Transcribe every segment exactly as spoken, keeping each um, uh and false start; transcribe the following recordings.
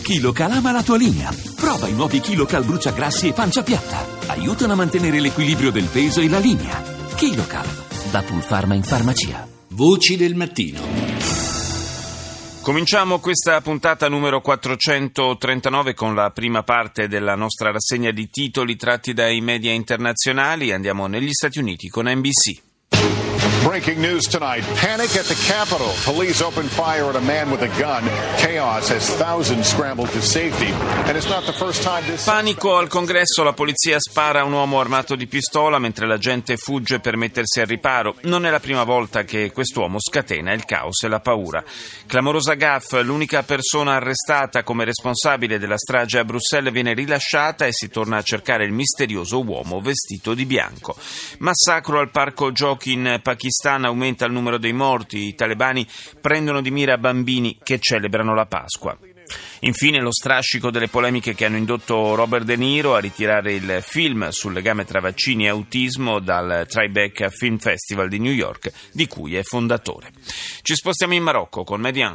KiloCal ama la tua linea. Prova i nuovi KiloCal bruciagrassi e pancia piatta. Aiutano a mantenere l'equilibrio del peso e la linea. KiloCal, da Pulpharma in farmacia. Voci del mattino. Cominciamo questa puntata numero quattrocentotrentanove con la prima parte della nostra rassegna di titoli tratti dai media internazionali. Andiamo negli Stati Uniti con N B C. Breaking news tonight. Panic at the Capitol. Police opened fire at a man with a gun. Chaos as thousands scrambled to safety. And it's not the first time this... Panico al Congresso. La polizia spara a un uomo armato di pistola mentre la gente fugge per mettersi al riparo. Non è la prima volta che quest'uomo scatena il caos e la paura. Clamorosa gaffe. L'unica persona arrestata come responsabile della strage a Bruxelles viene rilasciata e si torna a cercare il misterioso uomo vestito di bianco. Massacro al parco giochi in Pakistan, aumenta il numero dei morti, i talebani prendono di mira bambini che celebrano la Pasqua. Infine lo strascico delle polemiche che hanno indotto Robert De Niro a ritirare il film sul legame tra vaccini e autismo dal Tribeca Film Festival di New York, di cui è fondatore. Ci spostiamo in Marocco con Median.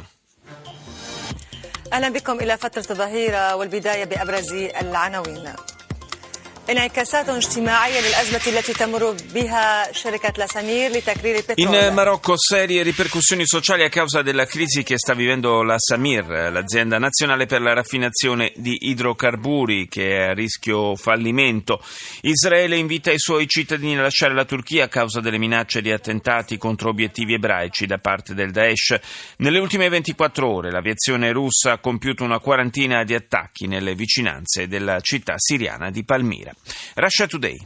أهلا بكم إلى فترة الظهيرة والبداية بأبرز العناوين. انعكاسات اجتماعية للأزمة التي تمر بها شركة لاسامير لتكرير البترول. In Marocco serie ripercussioni sociali a causa della crisi che sta vivendo la Samir, l'azienda nazionale per la raffinazione di idrocarburi che è a rischio fallimento. Israele invita i suoi cittadini a lasciare la Turchia a causa delle minacce di attentati contro obiettivi ebraici da parte del Daesh. Nelle ultime ventiquattro ore l'aviazione russa ha compiuto una quarantina di attacchi nelle vicinanze della città siriana di Palmira. Russia Today.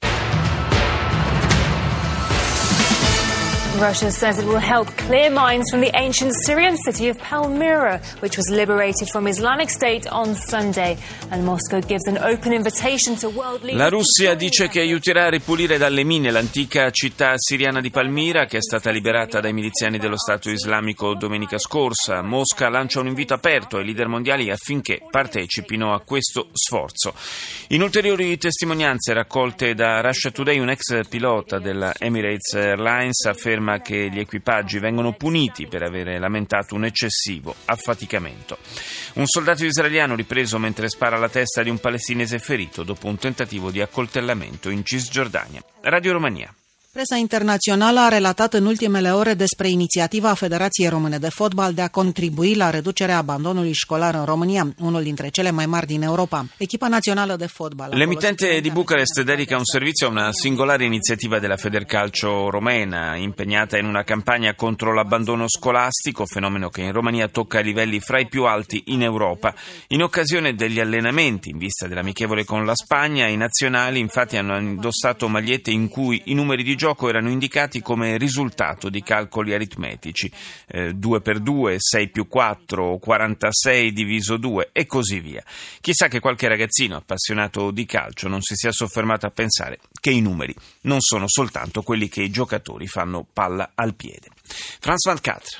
Russia says it will help clear mines from the ancient Syrian city of Palmyra, which was liberated from Islamic State on Sunday. And Moscow gives an open invitation to world leaders. La Russia dice che aiuterà a ripulire dalle mine l'antica città siriana di Palmira, che è stata liberata dai miliziani dello Stato islamico domenica scorsa. Mosca lancia un invito aperto ai leader mondiali affinché partecipino a questo sforzo. In ulteriori testimonianze raccolte da Russia Today, un ex pilota della Emirates Airlines afferma che gli equipaggi vengono puniti per avere lamentato un eccessivo affaticamento. Un soldato israeliano ripreso mentre spara alla testa di un palestinese ferito dopo un tentativo di accoltellamento in Cisgiordania. Radio Romania. Presa internațională a relatat în ultimele ore despre inițiativa Federației Române de Fotbal de a contribui la reducerea abandonului școlar în România, unul dintre cele mai mari din Europa. Echipa nazionale de fotbal. L'emittente di Bucarest dedica un servizio a una singolare iniziativa della Federcalcio romena, impegnata in una campagna contro l'abbandono scolastico, fenomeno che in Romania tocca i livelli fra i più alti in Europa. In occasione degli allenamenti in vista dell'amichevole con la Spagna, i nazionali infatti hanno indossato magliette in cui i numeri di gioco erano indicati come risultato di calcoli aritmetici, eh, due per due, sei più quattro, quarantasei diviso due e così via. Chissà che qualche ragazzino appassionato di calcio non si sia soffermato a pensare che i numeri non sono soltanto quelli che i giocatori fanno palla al piede. France vingt-quatre.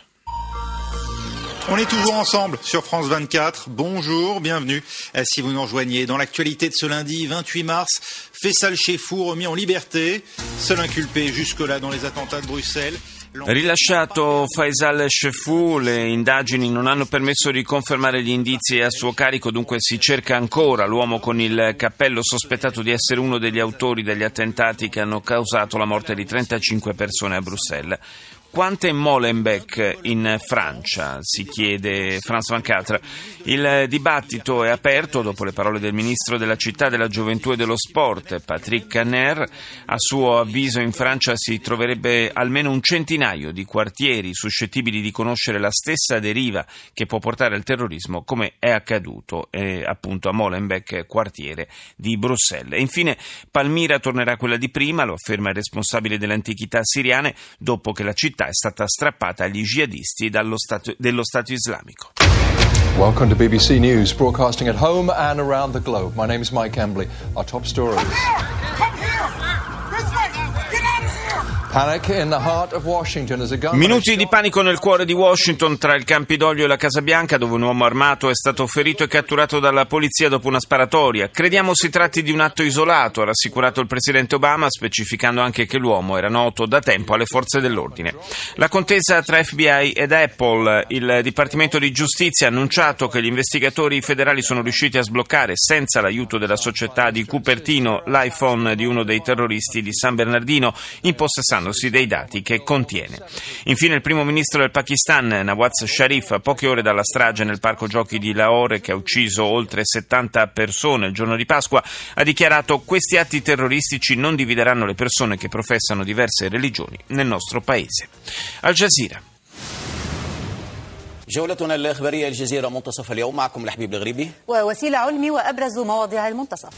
On est toujours ensemble sur France vingt-quatre. Bonjour, bienvenue. Si vous nous rejoignez dans l'actualité de ce lundi vingt-huit mars, Faisal Chefou remis en liberté, seul inculpé jusque-là dans les attentats de Bruxelles. Rilasciato Faisal Chefou, le indagini non hanno permesso di confermare gli indizi a suo carico, dunque si cerca ancora l'uomo con il cappello sospettato di essere uno degli autori degli attentati che hanno causato la morte di trentacinque persone a Bruxelles. Quanto è Molenbeek in Francia? Si chiede France vingt-quatre. Il dibattito è aperto dopo le parole del ministro della città, della gioventù e dello sport, Patrick Caner. A suo avviso in Francia si troverebbe almeno un centinaio di quartieri suscettibili di conoscere la stessa deriva che può portare al terrorismo, come è accaduto eh, appunto a Molenbeek, quartiere di Bruxelles. E infine Palmira tornerà quella di prima, lo afferma il responsabile delle antichità siriane, dopo che la città è stata strappata agli jihadisti dallo stato, dello Stato islamico. Welcome to B B C News, broadcasting at home and around the globe. My name is Mike Embley. Our top stories. Minuti di panico nel cuore di Washington, tra il Campidoglio e la Casa Bianca, dove un uomo armato è stato ferito e catturato dalla polizia dopo una sparatoria. Crediamo si tratti di un atto isolato, ha rassicurato il presidente Obama, specificando anche che l'uomo era noto da tempo alle forze dell'ordine. La contesa tra F B I ed Apple. Il Dipartimento di Giustizia ha annunciato che gli investigatori federali sono riusciti a sbloccare, senza l'aiuto della società di Cupertino, l'iPhone di uno dei terroristi di San Bernardino, impossessandosi dei dati che contiene. Infine il primo ministro del Pakistan, Nawaz Sharif, a poche ore dalla strage nel parco giochi di Lahore che ha ucciso oltre settanta persone il giorno di Pasqua, ha dichiarato: questi atti terroristici non divideranno le persone che professano diverse religioni nel nostro paese. Al Jazeera. جولتنا الإخبارية الجزيرة منتصف اليوم معكم لحبيب الغريبي ووسيلة علمي وأبرز مواضيع المنتصف.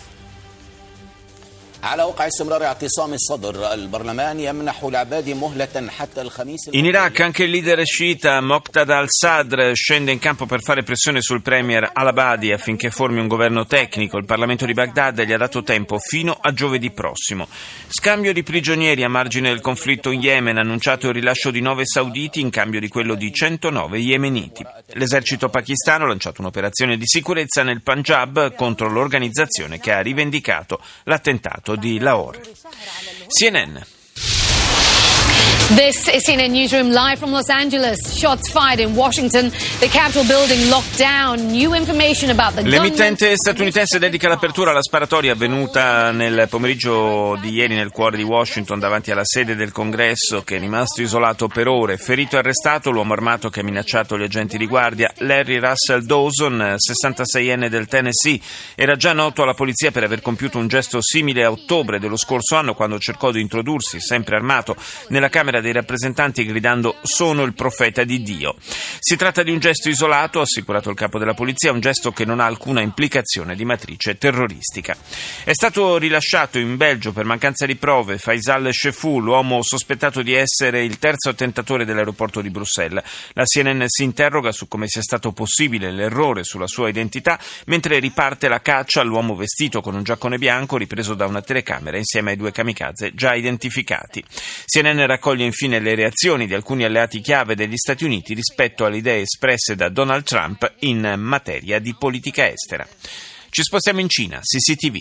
In Iraq anche il leader sciita Moqtada al-Sadr scende in campo per fare pressione sul premier al-Abadi affinché formi un governo tecnico. Il Parlamento di Baghdad gli ha dato tempo fino a giovedì prossimo. Scambio di prigionieri a margine del conflitto in Yemen, annunciato il rilascio di nove sauditi in cambio di quello di centonove yemeniti. L'esercito pakistano ha lanciato un'operazione di sicurezza nel Punjab contro l'organizzazione che ha rivendicato l'attentato di Lahore. C N N. This is C N N Newsroom live from Los Angeles. Shots fired in Washington. The Capitol building locked down. New information about the gunman. L'emittente statunitense dedica l'apertura alla sparatoria avvenuta nel pomeriggio di ieri nel cuore di Washington davanti alla sede del Congresso, che è rimasto isolato per ore. Ferito e arrestato l'uomo armato che ha minacciato gli agenti di guardia. Larry Russell Dawson, sessantaseienne del Tennessee, era già noto alla polizia per aver compiuto un gesto simile a ottobre dello scorso anno, quando cercò di introdursi, sempre armato, nella Camera dei rappresentanti gridando: sono il profeta di Dio. Si tratta di un gesto isolato, ha assicurato il capo della polizia, un gesto che non ha alcuna implicazione di matrice terroristica. È stato rilasciato in Belgio per mancanza di prove Faisal Chefou, l'uomo sospettato di essere il terzo attentatore dell'aeroporto di Bruxelles. La C N N si interroga su come sia stato possibile l'errore sulla sua identità, mentre riparte la caccia all'uomo vestito con un giaccone bianco ripreso da una telecamera insieme ai due kamikaze già identificati. C N N raccoglie infine le reazioni di alcuni alleati chiave degli Stati Uniti rispetto alle idee espresse da Donald Trump in materia di politica estera. Ci spostiamo in Cina, C C T V.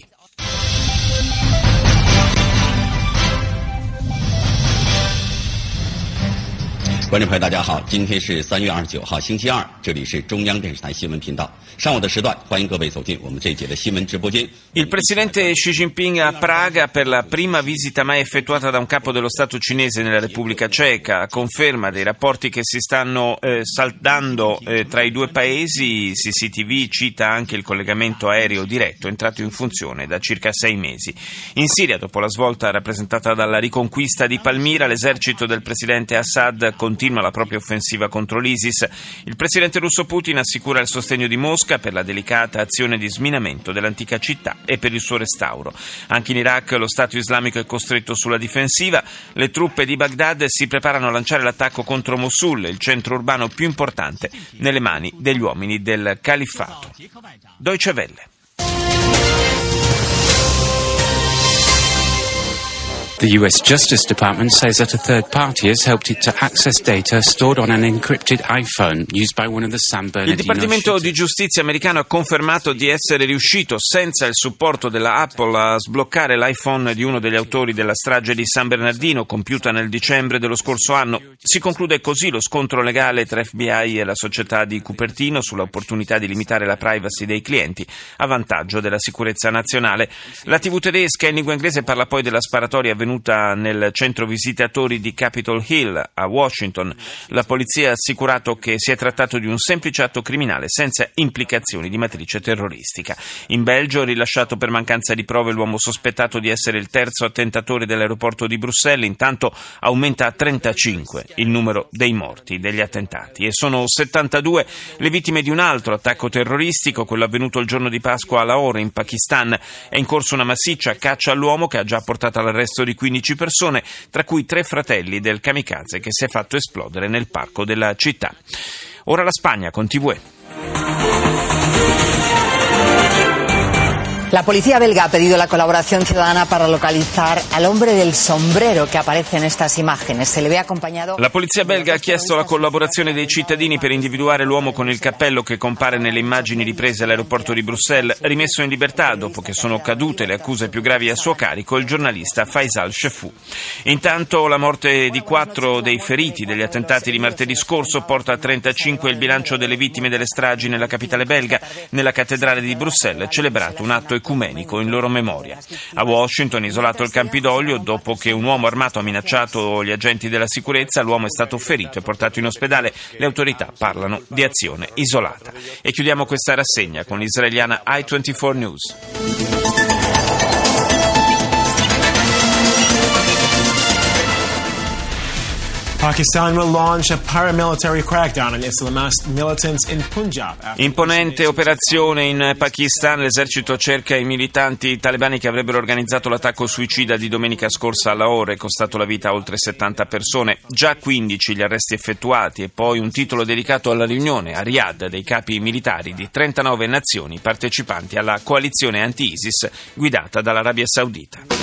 观众朋友大家好，今天是三月二十九号星期二，这里是中央电视台新闻频道。上午的时段，欢迎各位走进我们这一节的新闻直播间。 Il presidente Xi Jinping a Praga per la prima visita mai effettuata da un capo dello Stato cinese nella Repubblica Ceca, a conferma dei rapporti che si stanno eh, saldando eh, tra i due paesi. C C T V cita anche il collegamento aereo diretto entrato in funzione da circa sei mesi. In Siria, dopo la svolta rappresentata dalla riconquista di Palmira, l'esercito del presidente Assad continua la propria offensiva contro l'ISIS. Il presidente russo Putin assicura il sostegno di Mosca per la delicata azione di sminamento dell'antica città e per il suo restauro. Anche in Iraq lo Stato islamico è costretto sulla difensiva. Le truppe di Baghdad si preparano a lanciare l'attacco contro Mosul, il centro urbano più importante, nelle mani degli uomini del califfato. Deutsche Welle. The U S Justice Department says that a third party has helped it to access data stored on an encrypted iPhone used by one of the San Bernardino. Il Dipartimento di Giustizia americano ha confermato di essere riuscito, senza il supporto della Apple, a sbloccare l'iPhone di uno degli autori della strage di San Bernardino, compiuta nel dicembre dello scorso anno. Si conclude così lo scontro legale tra F B I e la società di Cupertino sull'opportunità di limitare la privacy dei clienti a vantaggio della sicurezza nazionale. La tivù tedesca in lingua inglese parla poi della sparatoria avvenuta nel centro visitatori di Capitol Hill a Washington. La polizia ha assicurato che si è trattato di un semplice atto criminale senza implicazioni di matrice terroristica. In Belgio, rilasciato per mancanza di prove l'uomo sospettato di essere il terzo attentatore dell'aeroporto di Bruxelles. Intanto aumenta a trentacinque il numero dei morti degli attentati e sono settantadue le vittime di un altro attacco terroristico, quello avvenuto il giorno di Pasqua a Lahore in Pakistan. È in corso una massiccia caccia all'uomo che ha già portato all'arresto di quindici persone, tra cui tre fratelli del kamikaze che si è fatto esplodere nel parco della città. Ora la Spagna con T V E. La policía belga ha pedido la colaboración ciudadana para localizar al hombre del sombrero que aparece en estas imágenes. Se le ve acompañado. La polizia belga ha chiesto la collaborazione dei cittadini per individuare l'uomo con il cappello che compare nelle immagini riprese all'aeroporto di Bruxelles, rimesso in libertà dopo che sono cadute le accuse più gravi a suo carico, il giornalista Faisal Cheffout. Intanto la morte di quattro dei feriti degli attentati di martedì scorso porta a trentacinque il bilancio delle vittime delle stragi nella capitale belga. Nella cattedrale di Bruxelles è celebrato un atto ecumenico in loro memoria. A Washington, isolato il Campidoglio, dopo che un uomo armato ha minacciato gli agenti della sicurezza, l'uomo è stato ferito e portato in ospedale. Le autorità parlano di azione isolata. E chiudiamo questa rassegna con l'israeliana I ventiquattro News. Pakistan will launch a paramilitary crackdown on Islamist militants in Punjab. Imponente operazione in Pakistan. L'esercito cerca i militanti talebani che avrebbero organizzato l'attacco suicida di domenica scorsa a Lahore e costato la vita a oltre settanta persone. Già quindici gli arresti effettuati e poi un titolo dedicato alla riunione a Riyadh dei capi militari di trentanove nazioni partecipanti alla coalizione anti-ISIS guidata dall'Arabia Saudita.